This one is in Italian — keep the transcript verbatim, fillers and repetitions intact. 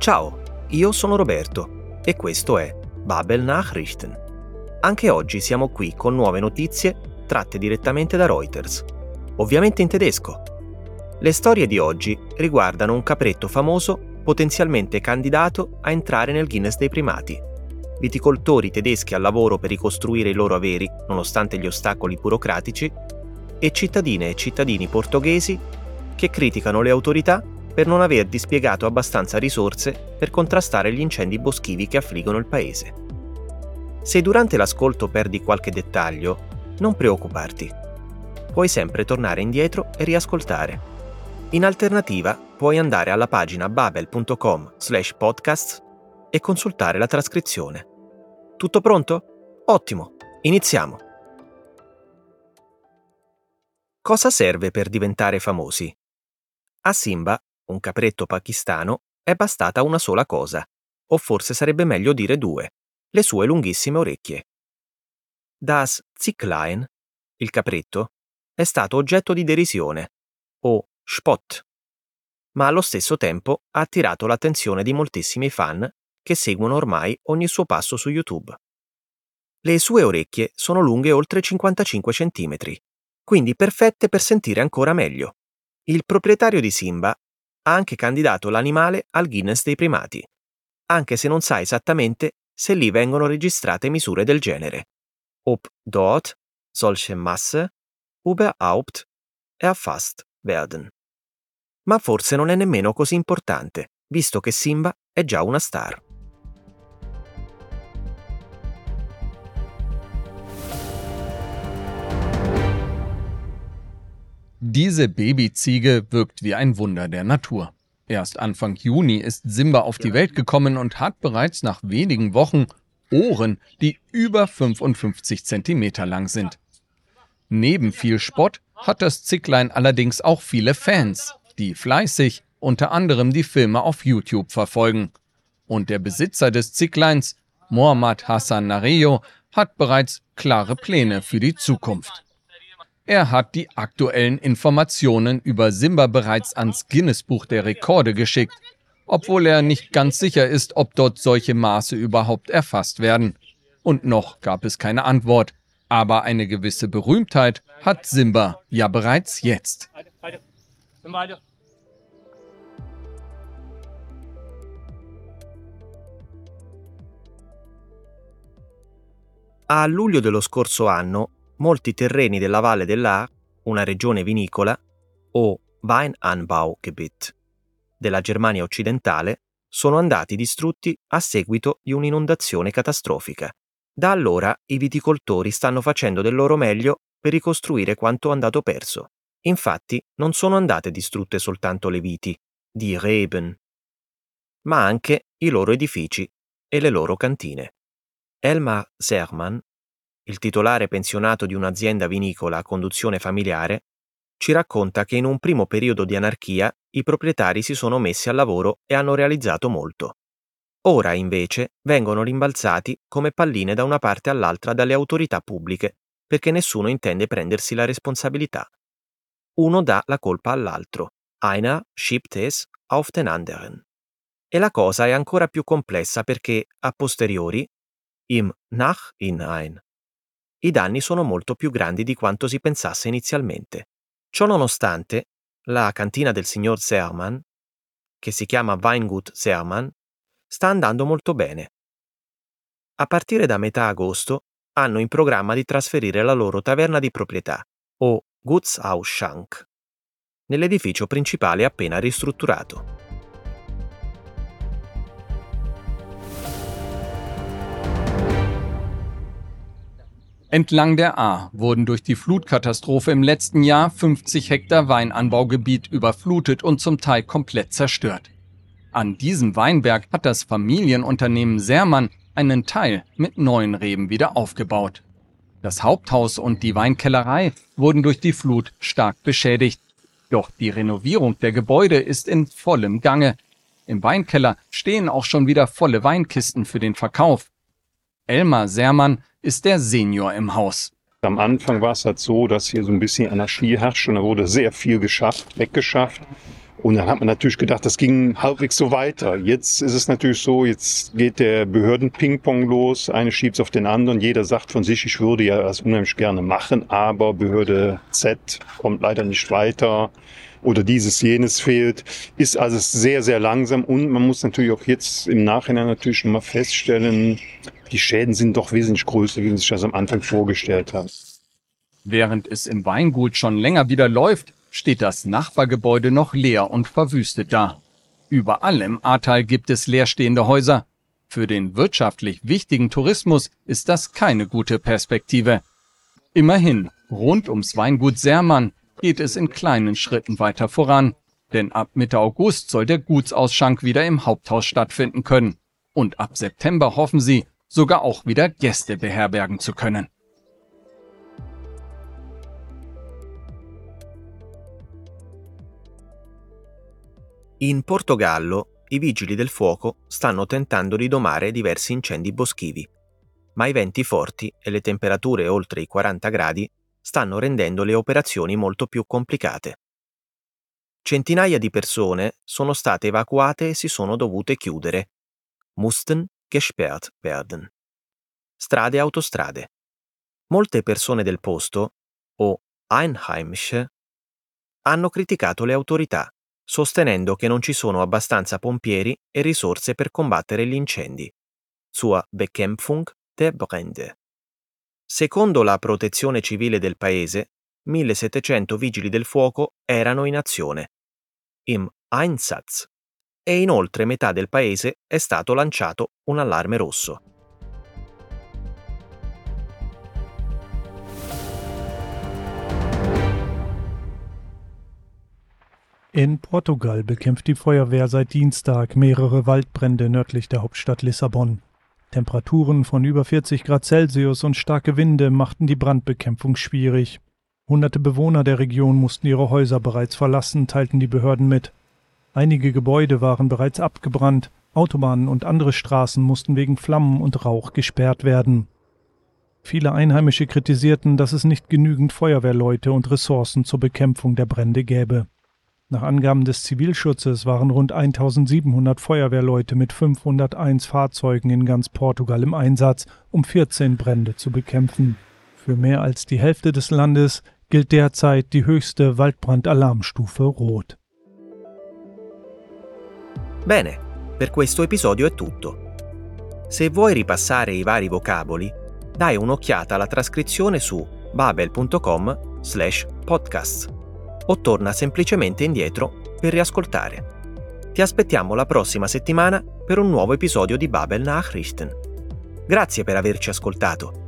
Ciao, io sono Roberto e questo è Babel Nachrichten. Anche oggi siamo qui con nuove notizie tratte direttamente da Reuters, ovviamente in tedesco. Le storie di oggi riguardano un capretto famoso potenzialmente candidato a entrare nel Guinness dei primati, viticoltori tedeschi al lavoro per ricostruire i loro averi nonostante gli ostacoli burocratici e cittadine e cittadini portoghesi che criticano le autorità per non aver dispiegato abbastanza risorse per contrastare gli incendi boschivi che affliggono il paese. Se durante l'ascolto perdi qualche dettaglio, non preoccuparti. Puoi sempre tornare indietro e riascoltare. In alternativa, puoi andare alla pagina babel punto com slash podcasts e consultare la trascrizione. Tutto pronto? Ottimo, iniziamo! Cosa serve per diventare famosi? A Simba, un capretto pakistano, è bastata una sola cosa, o forse sarebbe meglio dire due, le sue lunghissime orecchie. Das Zicklein, il capretto, è stato oggetto di derisione, o Spott, ma allo stesso tempo ha attirato l'attenzione di moltissimi fan che seguono ormai ogni suo passo su YouTube. Le sue orecchie sono lunghe oltre cinquantacinque centimetri, quindi perfette per sentire ancora meglio. Il proprietario di Simba ha anche candidato l'animale al Guinness dei primati, anche se non sa esattamente se lì vengono registrate misure del genere. Ob dort solche Masse überhaupt erfasst werden. Ma forse non è nemmeno così importante, visto che Simba è già una star. Diese Babyziege wirkt wie ein Wunder der Natur. Erst Anfang Juni ist Simba auf die Welt gekommen und hat bereits nach wenigen Wochen Ohren, die über fünfundfünfzig Zentimeter lang sind. Neben viel Spott hat das Zicklein allerdings auch viele Fans, die fleißig unter anderem die Filme auf YouTube verfolgen. Und der Besitzer des Zickleins, Mohammad Hassan Nareyo, hat bereits klare Pläne für die Zukunft. Er hat die aktuellen Informationen über Simba bereits ans Guinness-Buch der Rekorde geschickt, obwohl er nicht ganz sicher ist, ob dort solche Maße überhaupt erfasst werden. Und noch gab es keine Antwort. Aber eine gewisse Berühmtheit hat Simba ja bereits jetzt. A luglio dello scorso anno, molti terreni della Valle dell'Ahr, una regione vinicola, o Weinanbaugebiet, della Germania occidentale, sono andati distrutti a seguito di un'inondazione catastrofica. Da allora i viticoltori stanno facendo del loro meglio per ricostruire quanto andato perso. Infatti non sono andate distrutte soltanto le viti, die Reben, ma anche i loro edifici e le loro cantine. Elmar Sermann, il titolare pensionato di un'azienda vinicola a conduzione familiare, ci racconta che in un primo periodo di anarchia i proprietari si sono messi al lavoro e hanno realizzato molto. Ora, invece, vengono rimbalzati come palline da una parte all'altra dalle autorità pubbliche, perché nessuno intende prendersi la responsabilità. Uno dà la colpa all'altro. Einer schiebt es auf den anderen. E la cosa è ancora più complessa perché, a posteriori, im Nachhinein, i danni sono molto più grandi di quanto si pensasse inizialmente. Ciò nonostante, la cantina del signor Sermann, che si chiama Weingut Sermann, sta andando molto bene. A partire da metà agosto hanno in programma di trasferire la loro taverna di proprietà, o Gutsausschank, nell'edificio principale appena ristrutturato. Entlang der Ahr wurden durch die Flutkatastrophe im letzten Jahr fünfzig Hektar Weinanbaugebiet überflutet und zum Teil komplett zerstört. An diesem Weinberg hat das Familienunternehmen Sermann einen Teil mit neuen Reben wieder aufgebaut. Das Haupthaus und die Weinkellerei wurden durch die Flut stark beschädigt. Doch die Renovierung der Gebäude ist in vollem Gange. Im Weinkeller stehen auch schon wieder volle Weinkisten für den Verkauf. Elmar Sermann ist der Senior im Haus. Am Anfang war es halt so, dass hier so ein bisschen Anarchie herrscht und da wurde sehr viel geschafft, weggeschafft. Und dann hat man natürlich gedacht, das ging halbwegs so weiter. Jetzt ist es natürlich so, jetzt geht der Behörden-Ping-Pong los. Eine schiebt es auf den anderen. Jeder sagt von sich, ich würde ja das unheimlich gerne machen, aber Behörde Z kommt leider nicht weiter oder dieses, jenes fehlt. Ist also sehr, sehr langsam. Und man muss natürlich auch jetzt im Nachhinein natürlich schon mal feststellen, die Schäden sind doch wesentlich größer, wie man sich das am Anfang vorgestellt hat. Während es im Weingut schon länger wieder läuft, steht das Nachbargebäude noch leer und verwüstet da. Überall im Ahrtal gibt es leerstehende Häuser. Für den wirtschaftlich wichtigen Tourismus ist das keine gute Perspektive. Immerhin, rund ums Weingut Sermann geht es in kleinen Schritten weiter voran. Denn ab Mitte August soll der Gutsausschank wieder im Haupthaus stattfinden können. Und ab September hoffen sie, sogar auch wieder Gäste beherbergen zu können. In Portogallo i vigili del fuoco stanno tentando di domare diversi incendi boschivi, ma i venti forti e le temperature oltre i quaranta gradi stanno rendendo le operazioni molto più complicate. Centinaia di persone sono state evacuate e si sono dovute chiudere. Mussten gesperrt werden. Strade e autostrade. Molte persone del posto, o Einheimische, hanno criticato le autorità, sostenendo che non ci sono abbastanza pompieri e risorse per combattere gli incendi. Zur Bekämpfung der Brände. Secondo la protezione civile del paese, millesettecento vigili del fuoco erano in azione, im Einsatz, e inoltre metà del paese è stato lanciato un allarme rosso. In Portugal bekämpft die Feuerwehr seit Dienstag mehrere Waldbrände nördlich der Hauptstadt Lissabon. Temperaturen von über vierzig Grad Celsius und starke Winde machten die Brandbekämpfung schwierig. Hunderte Bewohner der Region mussten ihre Häuser bereits verlassen, teilten die Behörden mit. Einige Gebäude waren bereits abgebrannt, Autobahnen und andere Straßen mussten wegen Flammen und Rauch gesperrt werden. Viele Einheimische kritisierten, dass es nicht genügend Feuerwehrleute und Ressourcen zur Bekämpfung der Brände gäbe. Nach Angaben des Zivilschutzes waren rund eintausendsiebenhundert Feuerwehrleute mit fünfhunderteins Fahrzeugen in ganz Portugal im Einsatz, um vierzehn Brände zu bekämpfen. Für mehr als die Hälfte des Landes gilt derzeit die höchste Waldbrandalarmstufe Rot. Bene, per questo episodio è tutto. Se vuoi ripassare i vari vocaboli, dai un'occhiata alla trascrizione su babel punto com slash podcasts o torna semplicemente indietro per riascoltare. Ti aspettiamo la prossima settimana per un nuovo episodio di Babel Nachrichten. Grazie per averci ascoltato.